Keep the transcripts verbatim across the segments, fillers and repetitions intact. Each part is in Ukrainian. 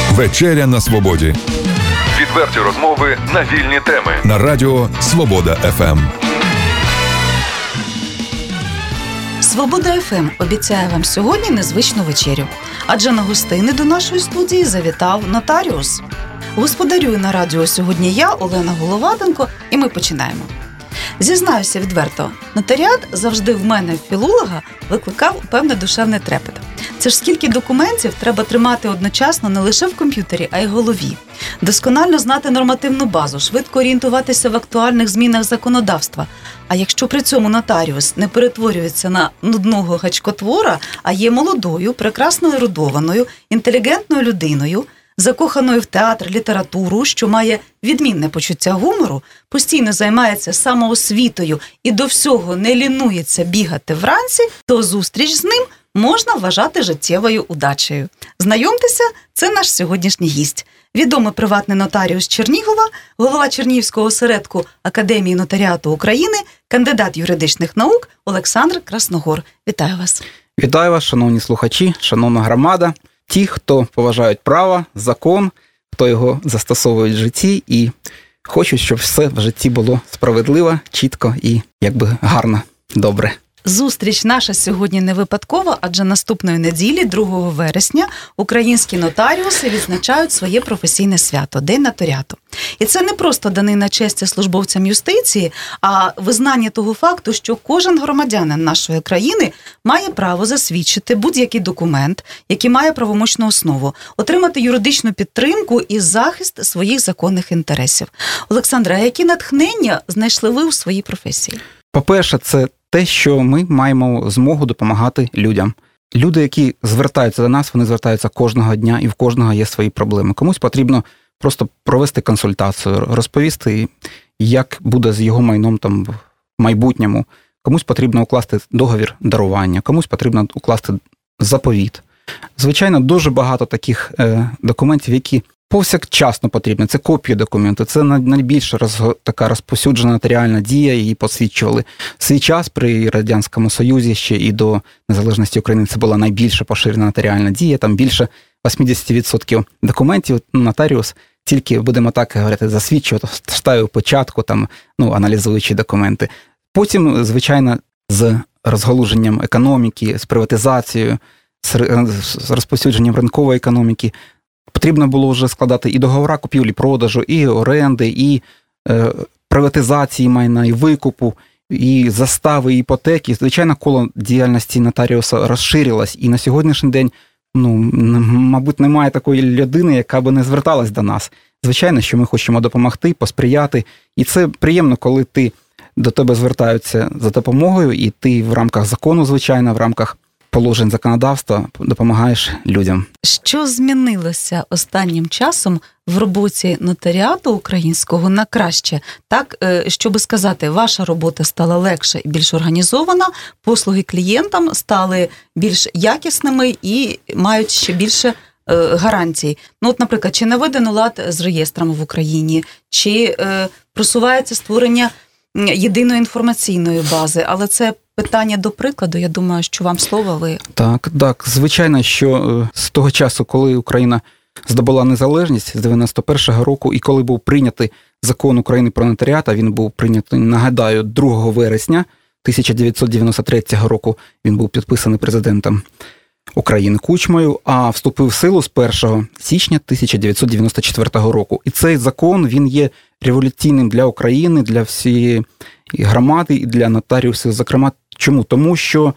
Вечеря на свободі. Відверті розмови на вільні теми. На радіо Свобода еф ем. Свобода еф ем обіцяє вам сьогодні незвичну вечерю. Адже на гостини до нашої студії завітав нотаріус. Господарюю на радіо сьогодні я, Олена Головатенко, і ми починаємо. Зізнаюся відверто, нотаріат завжди в мене, філолога, викликав певне душевне трепет. Це ж скільки документів треба тримати одночасно не лише в комп'ютері, а й в голові. Досконально знати нормативну базу, швидко орієнтуватися в актуальних змінах законодавства. А якщо при цьому нотаріус не перетворюється на нудного гачкотвора, а є молодою, прекрасно ерудованою, інтелігентною людиною, закоханою в театр, літературу, що має відмінне почуття гумору, постійно займається самоосвітою і до всього не лінується бігати вранці, то зустріч з ним можна вважати життєвою удачею. Знайомтеся, це наш сьогоднішній гість. Відомий приватний нотаріус Чернігова, голова Чернігівського осередку Академії нотаріату України, кандидат юридичних наук Олександр Красногор. Вітаю вас. Вітаю вас, шановні слухачі, шановна громада. Ті, хто поважають право, закон, хто його застосовує в житті і хочуть, щоб все в житті було справедливо, чітко і якби гарно, добре. Зустріч наша сьогодні не випадкова, адже наступної неділі, другого вересня, українські нотаріуси відзначають своє професійне свято – День нотаріату. І це не просто данина честі службовцям юстиції, а визнання того факту, що кожен громадянин нашої країни має право засвідчити будь-який документ, який має правомочну основу, отримати юридичну підтримку і захист своїх законних інтересів. Олександре, а які натхнення знайшли ви у своїй професії? По-перше, це те, що ми маємо змогу допомагати людям. Люди, які звертаються до нас, вони звертаються кожного дня, і в кожного є свої проблеми. Комусь потрібно просто провести консультацію, розповісти, як буде з його майном там в майбутньому. Комусь потрібно укласти договір дарування, комусь потрібно укласти заповіт. Звичайно, дуже багато таких е, документів, які повсякчасно потрібні. Це копії документу, це найбільш роз, така розповсюджена нотаріальна дія, її посвідчували. В свій час при Радянському Союзі ще і до незалежності України це була найбільша поширена нотаріальна дія, там більше вісімдесят відсотків документів нотаріус тільки, будемо так говорити, засвідчував, ставив початку, там, ну, аналізуючи документи. Потім, звичайно, з розгалуженням економіки, з приватизацією, з розповсюдженням ринкової економіки, потрібно було вже складати і договори купівлі-продажу, і оренди, і е, приватизації майна, і викупу, і застави, і іпотеки. Звичайно, коло діяльності нотаріуса розширилось, і на сьогоднішній день, ну, мабуть, немає такої людини, яка би не зверталась до нас. Звичайно, що ми хочемо допомогти, посприяти, і це приємно, коли ти, до тебе звертаються за допомогою, і ти в рамках закону, звичайно, в рамках положень законодавства допомагаєш людям. Що змінилося останнім часом в роботі нотаріату українського на краще? Так, щоб сказати, ваша робота стала легше і більш організована, послуги клієнтам стали більш якісними і мають ще більше гарантій. Ну, от, наприклад, чи наведено лад з реєстрами в Україні, чи е, просувається створення єдиної інформаційної бази, але це питання до прикладу, я думаю, що вам слово, ви... Так, так, звичайно, що з того часу, коли Україна здобула незалежність, з дев'яносто першого року, і коли був прийнятий закон України про нотаріат, а він був прийнятий, нагадаю, другого вересня тисяча дев'ятсот дев'яносто третього року, він був підписаний президентом України Кучмою, а вступив в силу з першого січня тисяча дев'ятсот дев'яносто четвертого року. І цей закон, він є революційним для України, для всієї громади і для нотаріусів, зокрема. Чому? Тому що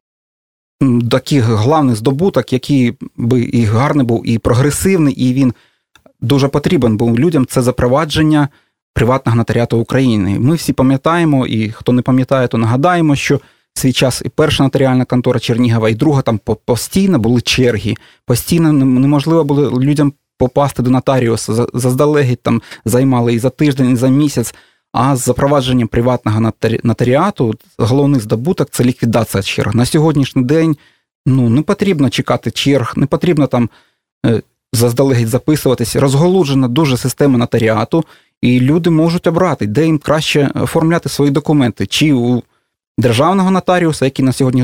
такий головний здобуток, який би і гарний був, і прогресивний, і він дуже потрібен був людям, це запровадження приватного нотаріату України. Ми всі пам'ятаємо, і хто не пам'ятає, то нагадаємо, що в свій час і перша нотаріальна контора Чернігова, і друга, там постійно були черги, постійно неможливо було людям попасти до нотаріуса, заздалегідь там займали і за тиждень, і за місяць. А з запровадженням приватного нотаріату головний здобуток – це ліквідація черг. На сьогоднішній день ну, не потрібно чекати черг, не потрібно там е, заздалегідь записуватись. Розголуджена дуже система нотаріату, і люди можуть обрати, де їм краще оформляти свої документи. Чи у державного нотаріуса, який на сьогоднішній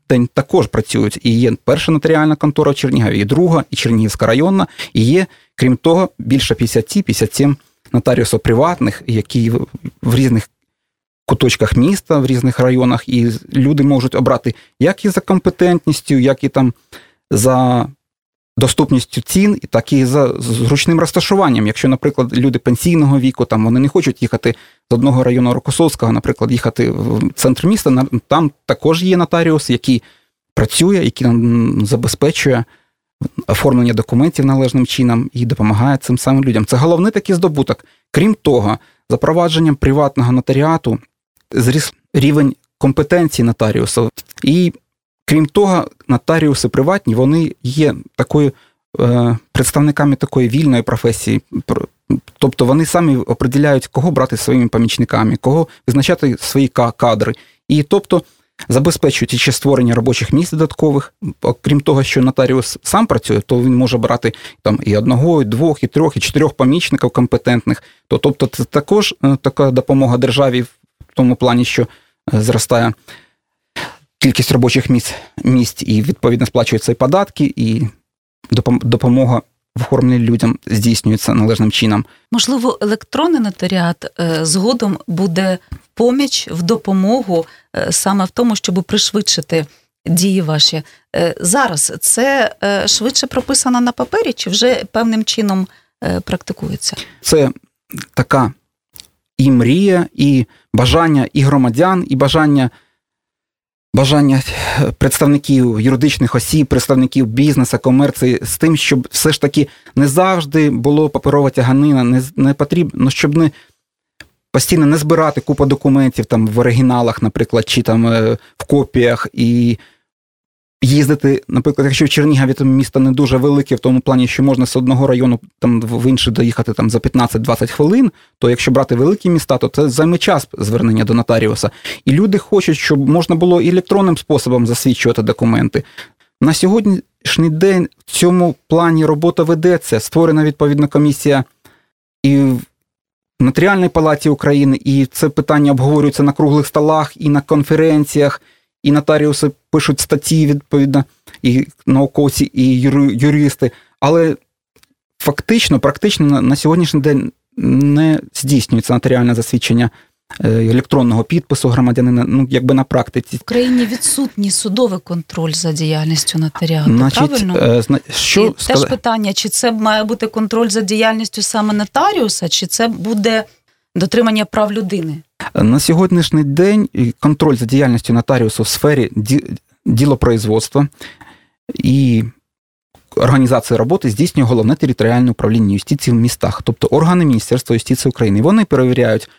день також працюють. І є перша нотаріальна контора в Чернігові, і друга, і Чернігівська районна, і є, крім того, більше п'ятдесят п'ятдесят сім нотаріусів приватних, які в різних куточках міста, в різних районах, і люди можуть обрати як і за компетентністю, як і там за доступністю цін, так і за зручним розташуванням. Якщо, наприклад, люди пенсійного віку, там вони не хочуть їхати з одного району Рокосовського, наприклад, їхати в центр міста, там також є нотаріус, який працює, який забезпечує оформлення документів належним чином і допомагає цим самим людям. Це головний такий здобуток. Крім того, запровадженням приватного нотаріату зріс рівень компетенції нотаріусів. І крім того, нотаріуси приватні, вони є такою е, представниками такої вільної професії. Тобто вони самі определяють, кого брати своїми помічниками, кого визначати свої кадри. І тобто забезпечують ще створення робочих місць додаткових. Окрім того, що нотаріус сам працює, то він може брати там і одного, і двох, і трьох, і чотирьох помічників компетентних. То, тобто це також така допомога державі в тому плані, що зростає кількість робочих місць, місць і відповідно сплачуються і податки, і допомога в оформленні людям здійснюється належним чином. Можливо, електронний нотаріат е, згодом буде в поміч, в допомогу е, саме в тому, щоб пришвидшити дії ваші. Е, зараз це е, швидше прописано на папері, чи вже певним чином е, практикується? Це така і мрія, і бажання і громадян, і бажання Бажання представників юридичних осіб, представників бізнесу, комерції з тим, щоб все ж таки не завжди було паперова тяганина, не, не потрібно, щоб не постійно не збирати купу документів там в оригіналах, наприклад, чи там в копіях, і їздити, наприклад, якщо в Чернігові там місто не дуже велике, в тому плані, що можна з одного району там в інший доїхати там за п'ятнадцять-двадцять хвилин, то якщо брати великі міста, то це займе час звернення до нотаріуса. І люди хочуть, щоб можна було і електронним способом засвідчувати документи. На сьогоднішній день в цьому плані робота ведеться, створена відповідна комісія і в Нотаріальній палаті України, і це питання обговорюється на круглих столах і на конференціях, і нотаріуси пишуть статті, відповідно, і науковці, і юристи. Але фактично, практично на, на сьогоднішній день не здійснюється нотаріальне засвідчення електронного підпису громадянина, ну, якби на практиці. В Україні відсутній судовий контроль за діяльністю нотаріату, Значить, правильно? Е, що і сказ... теж питання, чи це має бути контроль за діяльністю саме нотаріуса, чи це буде дотримання прав людини? На сьогоднішній день контроль за діяльністю нотаріусу в сфері ділопроизводства і організації роботи здійснює Головне територіальне управління юстиції в містах, тобто органи Міністерства юстиції України. Вони перевіряють,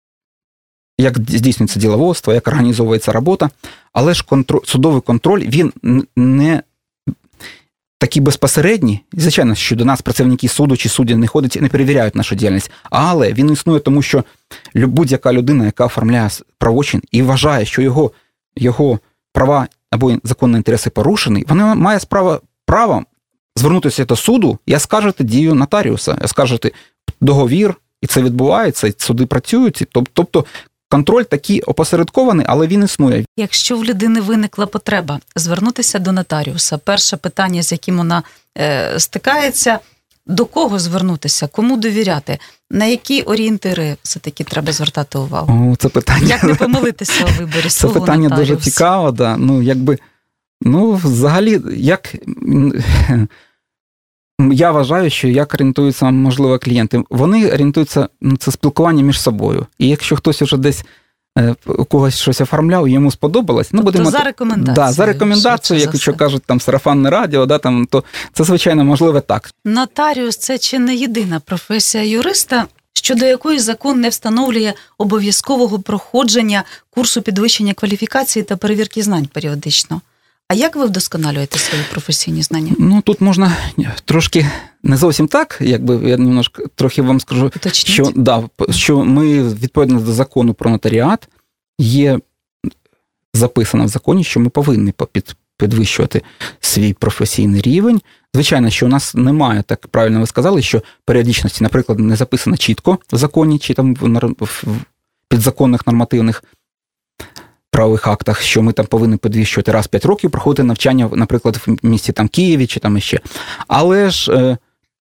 як здійснюється діловодство, як організовується робота, але ж контроль, судовий контроль, він не такий безпосередній. Звичайно, що до нас працівники суду чи судді не ходять і не перевіряють нашу діяльність, але він існує тому, що будь-яка людина, яка оформляє правочин і вважає, що його, його права або законні інтереси порушені, вона має справа, право звернутися до суду і оскаржити дію нотаріуса, оскаржити договір, і це відбувається, і суди працюють. Тобто контроль такий опосередкований, але він існує. Якщо в людини виникла потреба звернутися до нотаріуса, перше питання, з яким вона е, стикається, до кого звернутися, кому довіряти, на які орієнтири все-таки треба звертати увагу? О, це питання. Як не помилитися у виборі свого нотаріуса? Це питання нотаріуса? дуже цікаве, да. Ну, якби, ну, взагалі, як... Я вважаю, що як орієнтуються, можливо, клієнти. Вони орієнтуються, ну, це спілкування між собою. І якщо хтось вже десь е, у когось щось оформляв, і йому сподобалось, ну, тобто будемо... за рекомендацією. Да, за рекомендацією, якщо кажуть, там, сарафанне радіо, да, там, то це, звичайно, можливо так. Нотаріус – це чи не єдина професія юриста, щодо якої закон не встановлює обов'язкового проходження курсу підвищення кваліфікації та перевірки знань періодично. А як ви вдосконалюєте свої професійні знання? Ну, тут можна трошки не зовсім так, якби я немножко трохи вам скажу, що, да, що ми, відповідно до закону про нотаріат, є записано в законі, що ми повинні підвищувати свій професійний рівень. Звичайно, що у нас немає, так правильно ви сказали, що періодичності, наприклад, не записано чітко в законі, чи там в підзаконних нормативних правових актах, що ми там повинні підвищувати раз в п'ять років, проходити навчання, наприклад, в місті там Києві чи там іще. Але ж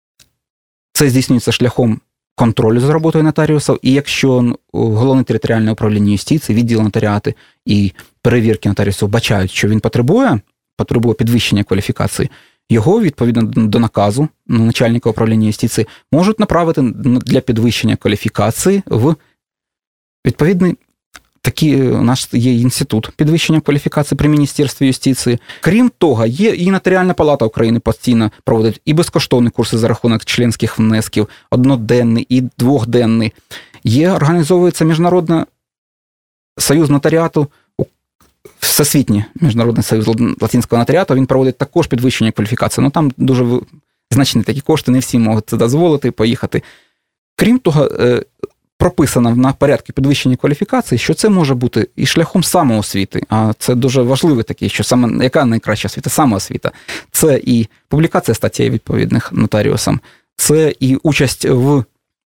це здійснюється шляхом контролю за роботою нотаріусів, і якщо Головне територіальне управління юстиції, відділ нотаріати і перевірки нотаріусів бачають, що він потребує, потребує підвищення кваліфікації, його, відповідно до наказу начальника управління юстиції, можуть направити для підвищення кваліфікації в відповідний такий у нас є інститут підвищення кваліфікації при Міністерстві юстиції. Крім того, є і Нотаріальна палата України постійно проводить і безкоштовні курси за рахунок членських внесків, одноденний і двохденний. Є, організовується Міжнародний союз нотаріату, Всесвітній Міжнародний союз латинського нотаріату, він проводить також підвищення кваліфікації. Ну там дуже значні такі кошти, не всі можуть це дозволити, поїхати. Крім того, прописано на порядку підвищення кваліфікації, що це може бути і шляхом самоосвіти, а це дуже важливий такий, що саме, яка найкраща освіта? Самоосвіта. Це і публікація статей відповідних нотаріусам, це і участь в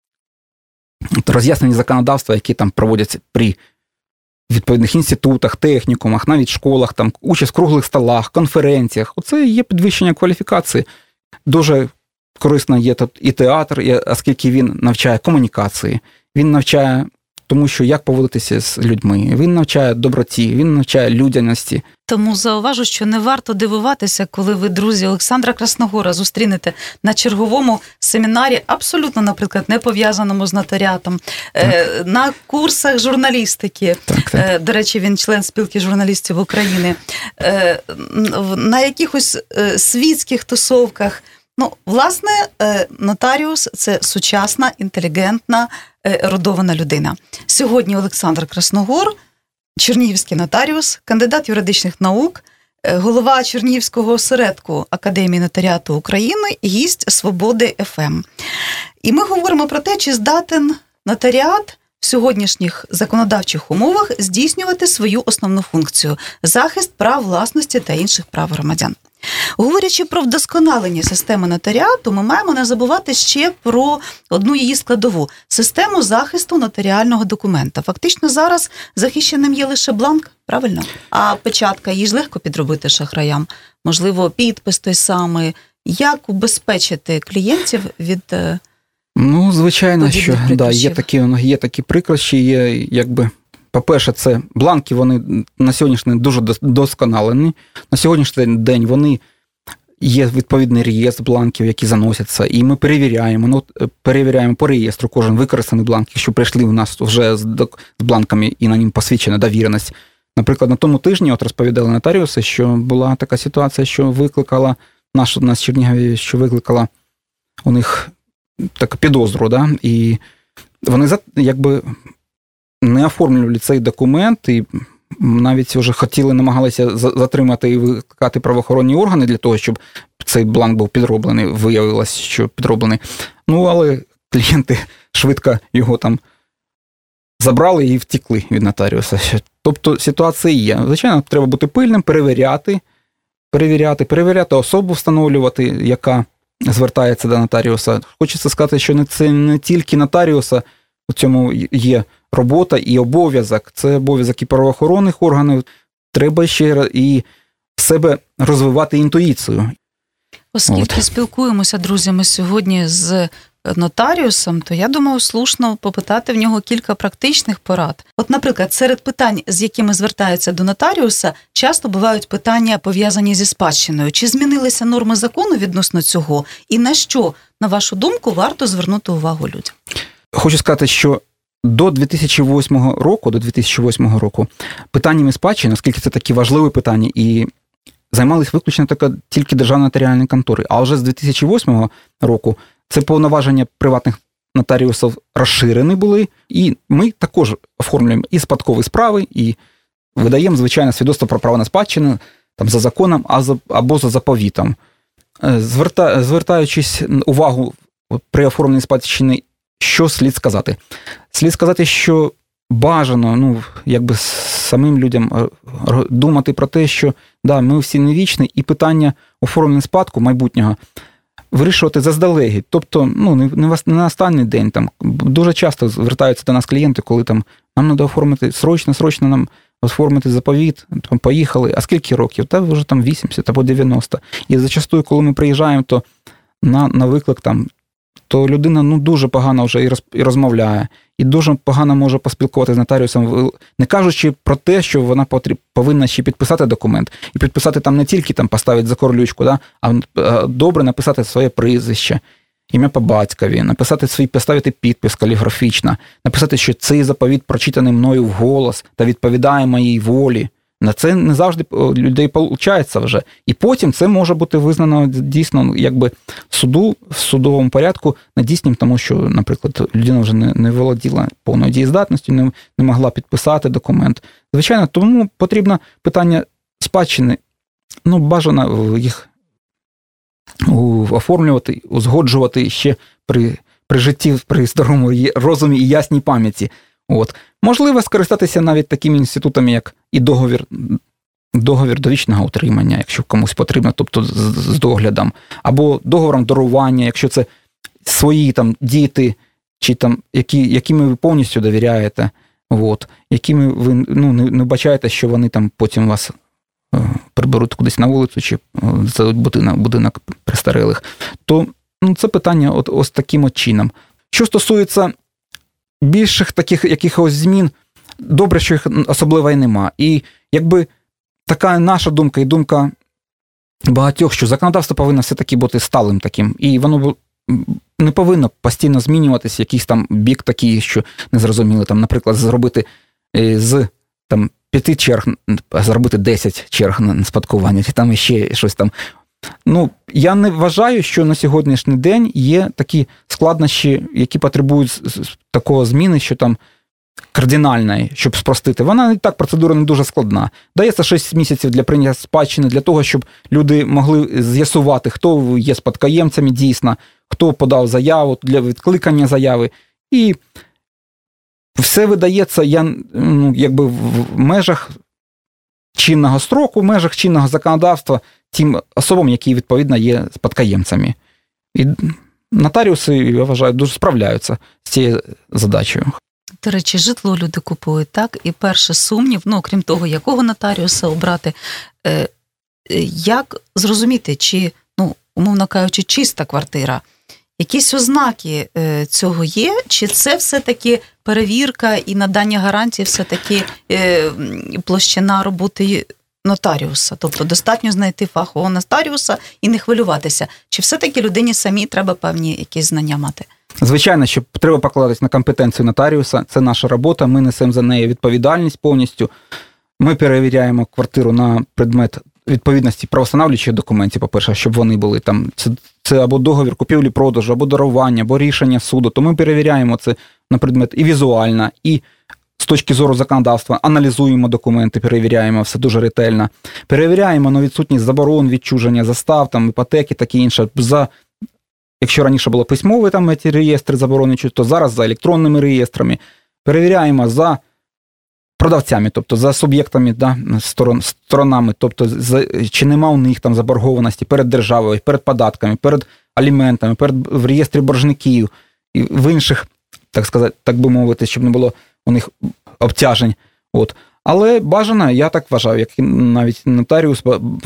роз'ясненні законодавства, які там проводяться при відповідних інститутах, технікумах, навіть школах, там участь в круглих столах, конференціях. Оце є підвищення кваліфікації. Дуже корисно є тут і театр, оскільки він навчає комунікації, він навчає тому, що як поводитися з людьми, він навчає доброті, він навчає людяності. Тому зауважу, що не варто дивуватися, коли ви, друзі, Олександра Красногора зустрінете на черговому семінарі, абсолютно, наприклад, не пов'язаному з нотаріатом, так. на курсах журналістики, так, так. До речі, він член спілки журналістів України, на якихось світських тусовках. Ну, власне, нотаріус – це сучасна, інтелігентна, ерудована людина. Сьогодні Олександр Красногор, чернігівський нотаріус, кандидат юридичних наук, голова Чернігівського осередку Академії нотаріату України, гість Свободи еф ем. І ми говоримо про те, чи здатен нотаріат в сьогоднішніх законодавчих умовах здійснювати свою основну функцію – захист прав власності та інших прав громадян. Говорячи про вдосконалення системи нотаріату, ми маємо не забувати ще про одну її складову – систему захисту нотаріального документа. Фактично зараз захищеним є лише бланк, правильно? А печатка, її ж легко підробити шахраям. Можливо, підпис той самий. Як убезпечити клієнтів від Ну, звичайно, що да, є такі, є такі прикрощі, є якби... По-перше, це бланки, вони на сьогоднішній день дуже досконалені. На сьогоднішній день вони є відповідний реєстр бланків, які заносяться, і ми перевіряємо, ну, перевіряємо по реєстру кожен використаний бланк, якщо прийшли в нас вже з бланками і на ним посвідчена довіреність. Наприклад, на тому тижні от розповідали нотаріуси, що була така ситуація, що викликала, наш у нас в Чернігові, що викликала у них таку підозру, да? І вони якби не оформлювали цей документ, і навіть вже хотіли, намагалися затримати і викликати правоохоронні органи для того, щоб цей бланк був підроблений, виявилось, що підроблений. Ну, але клієнти швидко його там забрали і втекли від нотаріуса. Тобто ситуація є. Звичайно, треба бути пильним, перевіряти, перевіряти, перевіряти особу, встановлювати, яка звертається до нотаріуса. Хочеться сказати, що це не тільки нотаріуса, у цьому є робота і обов'язок. Це обов'язок і правоохоронних органів. Треба ще і в себе розвивати інтуїцію. Оскільки От. спілкуємося, друзями, сьогодні з нотаріусом, то я думаю, слушно попитати в нього кілька практичних порад. От, наприклад, серед питань, з якими звертаються до нотаріуса, часто бувають питання, пов'язані зі спадщиною. Чи змінилися норми закону відносно цього? І на що, на вашу думку, варто звернути увагу людям? Хочу сказати, що до дві тисячі восьмого року, до дві тисячі восьмого року питаннями спадщини, оскільки це такі важливі питання, і займалися виключно тільки державні нотаріальні контори. А вже з дві тисячі восьмого року це повноваження приватних нотаріусів розширені були, і ми також оформлюємо і спадкові справи, і видаємо, звичайно, свідоцтво про право на спадщину там, за законом або за заповітом. Зверта, звертаючись увагу при оформленні спадщини, що слід сказати? Слід сказати, що бажано, ну, якби самим людям думати про те, що да, ми всі не вічні, і питання оформлення спадку майбутнього вирішувати заздалегідь. Тобто, ну, не на останній день. Там дуже часто звертаються до нас клієнти, коли там нам треба оформити срочно, срочно нам оформити заповіт, там, поїхали, а скільки років? Та вже там вісімдесят або дев'яносто. І зачастую, коли ми приїжджаємо, то на, на виклик там, то людина ну, дуже погано вже і, роз, і розмовляє, і дуже погано може поспілкуватися з нотаріусом, не кажучи про те, що вона потріб, повинна ще підписати документ. І підписати там не тільки там, поставити за корлючку, да, а добре написати своє прізвище, ім'я по батькові, написати свій, поставити підпис каліграфічно, написати, що цей заповіт прочитаний мною вголос та відповідає моїй волі. На це не завжди людей виходить вже. І потім це може бути визнано дійсно якби суду, в судовому порядку недійсним, тому що, наприклад, людина вже не, не володіла повною дієздатністю, не, не могла підписати документ. Звичайно, тому потрібно питання спадщини, ну, бажано їх оформлювати, узгоджувати ще при, при житті, при здоровому розумі і ясній пам'яті. От. Можливо скористатися навіть такими інститутами, як і договір, договір довічного утримання, якщо комусь потрібно, тобто з, з доглядом, або договором дарування, якщо це свої там діти, чи там, які, якими ви повністю довіряєте, от, якими ви ну, не, не бачаєте, що вони там потім вас е, приберуть кудись на вулицю, чи за будинок, будинок престарілих, то ну, це питання от, ось таким от чином. Що стосується більших таких якихось змін, добре, що їх особливо і нема. І якби така наша думка і думка багатьох, що законодавство повинно все-таки бути сталим таким, і воно не повинно постійно змінюватися, якийсь там бік такий, що незрозуміло, там, наприклад, зробити з там, п'яти черг, зробити десять черг на спадкування, чи там ще щось там. Ну, я не вважаю, що на сьогоднішній день є такі складнощі, які потребують такого зміни, що там кардинальної, щоб спростити. Вона і так, процедура не дуже складна. Дається шість місяців для прийняття спадщини, для того, щоб люди могли з'ясувати, хто є спадкоємцями дійсно, хто подав заяву для відкликання заяви. І все видається, я, ну, якби в межах чинного строку, в межах чинного законодавства тим особам, які, відповідно, є спадкоємцями. І нотаріуси, я вважаю, дуже справляються з цією задачею. До речі, житло люди купують, так? І перший сумнів, ну, крім того, якого нотаріуса обрати, е, як зрозуміти, чи, ну, умовно кажучи, чиста квартира, якісь ознаки е, цього є, чи це все-таки перевірка і надання гарантії все-таки е, площина роботи нотаріуса? Тобто достатньо знайти фахового нотаріуса і не хвилюватися. Чи все-таки людині самій треба певні якісь знання мати? Звичайно, що треба покладатись на компетенцію нотаріуса. Це наша робота, ми несемо за неї відповідальність повністю. Ми перевіряємо квартиру на предмет відповідності правовстановлюючих документів, по-перше, щоб вони були там, це, це або договір купівлі-продажу, або дарування, або рішення суду, то ми перевіряємо це на предмет і візуально, і з точки зору законодавства, аналізуємо документи, перевіряємо все дуже ретельно, перевіряємо на відсутність заборон, відчуження, застав, там, іпотеки, таке інше. За, якщо раніше було письмові там, ці реєстри заборони, то зараз за електронними реєстрами. Перевіряємо за продавцями, тобто за суб'єктами, да, сторон, сторонами, тобто за, чи нема у них там заборгованості перед державою, перед податками, перед аліментами, перед, в реєстрі боржників і в інших, так сказати, так би мовити, щоб не було у них обтяжень. От. Але бажано, я так вважаю, як навіть нотаріус,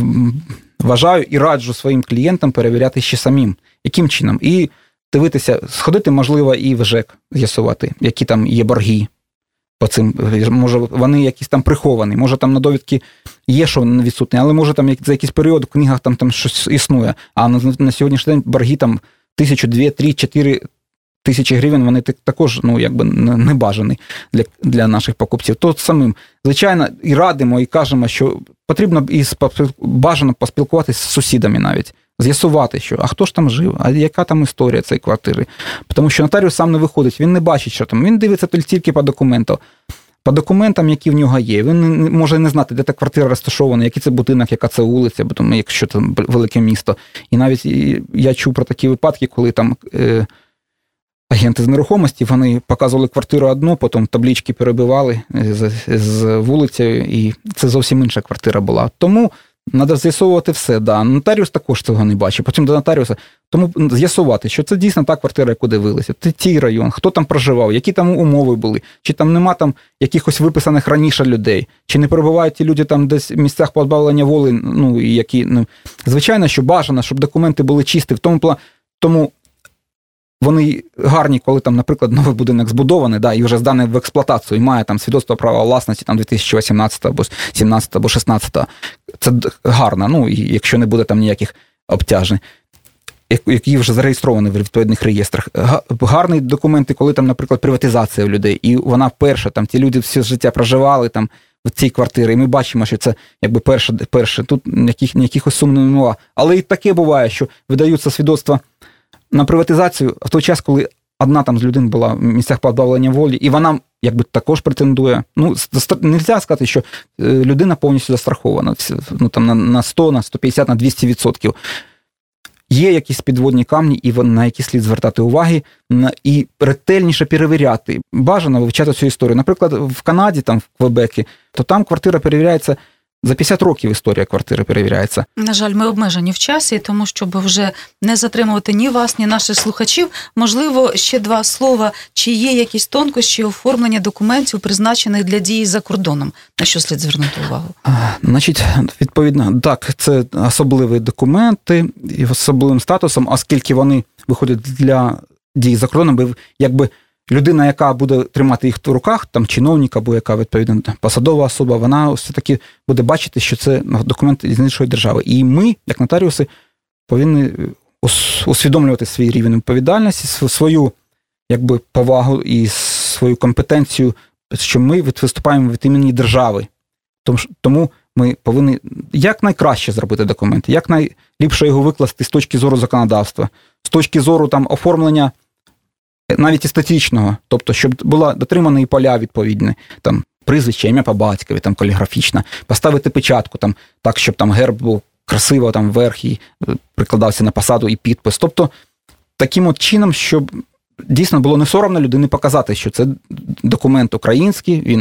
вважаю і раджу своїм клієнтам перевіряти ще самим. Яким чином? І дивитися, сходити, можливо, і в ЖЕК з'ясувати, які там є борги. По цим, може, вони якісь там приховані, може там на довідки є, що відсутні, але може там за якийсь період в книгах там, там щось існує. А на, на сьогоднішній день борги там тисячу, дві, три, чотири тисячі гривень, вони також, ну, якби не бажані для, для наших покупців. То самим, звичайно, і радимо, і кажемо, що потрібно і бажано поспілкуватися з сусідами навіть, з'ясувати, що, а хто ж там жив, а яка там історія цієї квартири. Тому що нотаріус сам не виходить, він не бачить, що там, він дивиться тільки по документу, по документам, які в нього є. Він не, може не знати, де та квартира розташована, який це будинок, яка це вулиця, бо там, якщо це велике місто. І навіть я чув про такі випадки, коли там е, агенти з нерухомості, вони показували квартиру одну, потім таблички перебивали з, з вулицею, і це зовсім інша квартира була. Тому Треба з'ясовувати все, да. Нотаріус також цього не бачить, потім до нотаріуса. Тому з'ясувати, що це дійсно та квартира, яку дивилися, це ті район, хто там проживав, які там умови були, чи там нема там якихось виписаних раніше людей, чи не перебувають ті люди там десь в місцях позбавлення волі, ну, які, ну, звичайно, що бажано, щоб документи були чисті, в тому, тому вони гарні, коли там, наприклад, новий будинок збудований, да, і вже зданий в експлуатацію, і має там свідоцтво права власності там дві тисячі вісімнадцятого або сімнадцятого або шістнадцятого. Це гарно, ну, і якщо не буде там ніяких обтяжень, які вже зареєстровані в відповідних реєстрах. Гарні документи, коли там, наприклад, приватизація у людей, і вона вперше, там ті люди все життя проживали там в цій квартирі, і ми бачимо, що це якби перше, перше. Тут ніяких, ніякихось сумнівів немає. Але і таке буває, що видаються свідоцтва на приватизацію в той час, коли одна там з людей була в місцях позбавлення волі, і вона якби також претендує. Ну, не можна сказати, що людина повністю застрахована, ну, там, на сто, на сто п'ятдесят, на двісті відсотків. Є якісь підводні камні, і на які слід звертати уваги, і ретельніше перевіряти. Бажано вивчати цю історію. Наприклад, в Канаді, там, в Квебекі, то там квартира перевіряється, за п'ятдесят років історія квартири перевіряється. На жаль, ми обмежені в часі, тому щоб вже не затримувати ні вас, ні наших слухачів, можливо, ще два слова, чи є якісь тонкощі оформлення документів, призначених для дії за кордоном? На що слід звернути увагу? А, значить, відповідно, так, це особливі документи і особливим статусом, оскільки вони виходять для дії за кордоном, бо якби людина, яка буде тримати їх в руках, там чиновник або яка, відповідно, посадова особа, вона все-таки буде бачити, що це документ з іншої держави. І ми, як нотаріуси, повинні усвідомлювати свій рівень відповідальності, свою якби, повагу і свою компетенцію, що ми виступаємо від імені держави. Тому ми повинні якнайкраще зробити документ, якнайліпше його викласти з точки зору законодавства, з точки зору там, оформлення навіть естетичного, тобто, щоб була дотримана і поля відповідні, там, прізвище, ім'я по батькові, там, каліграфічна, поставити печатку, там, так, щоб там герб був красиво, там, вверх і прикладався на посаду і підпис. Тобто, таким от чином, щоб дійсно було не соромно людині показати, що це документ український, він,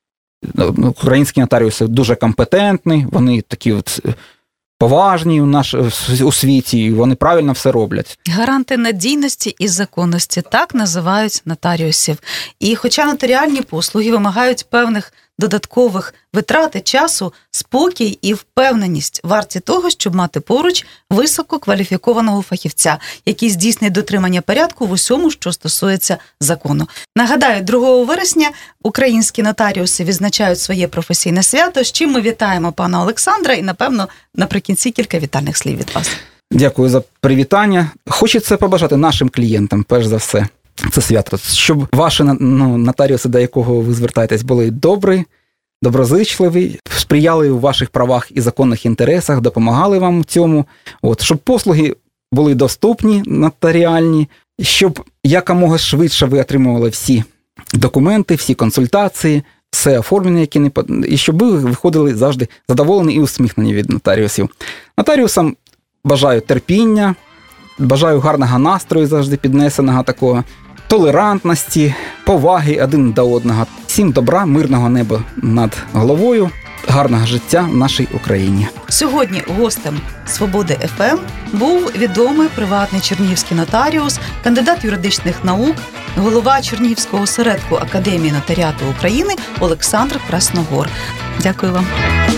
українські нотаріуси дуже компетентні, вони такі от поважні у, наш, у світі, і вони правильно все роблять. Гаранти надійності і законності, так називають нотаріусів. І хоча нотаріальні послуги вимагають певних додаткових витрат і часу, спокій і впевненість варті того, щоб мати поруч висококваліфікованого фахівця, який здійснить дотримання порядку в усьому, що стосується закону. Нагадаю, другого вересня українські нотаріуси відзначають своє професійне свято, з чим ми вітаємо пана Олександра і, напевно, наприкінці кілька вітальних слів від вас. Дякую за привітання. Хочеться побажати нашим клієнтам, перш за все, це свято, щоб ваші, ну, нотаріуси, до якого ви звертаєтесь, були добрі, доброзичливі, сприяли у ваших правах і законних інтересах, допомагали вам в цьому, от, щоб послуги були доступні, нотаріальні, щоб якомога швидше ви отримували всі документи, всі консультації, все оформлення, які не і щоб ви виходили завжди задоволені і усміхнені від нотаріусів. Нотаріусам бажаю терпіння, бажаю гарного настрою завжди піднесеного такого, толерантності, поваги один до одного. Всім добра, мирного неба над головою, гарного життя в нашій Україні. Сьогодні гостем «Свободи еф ем» був відомий приватний чернігівський нотаріус, кандидат юридичних наук, голова Чернігівського осередку Академії нотаріату України Олександр Красногор. Дякую вам.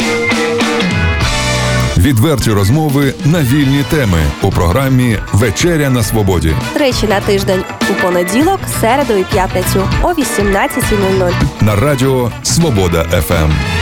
Відверті розмови на вільні теми у програмі «Вечеря на свободі». Тричі на тиждень у понеділок, середу і п'ятницю о вісімнадцятій нуль нуль. На радіо «Свобода еф ем».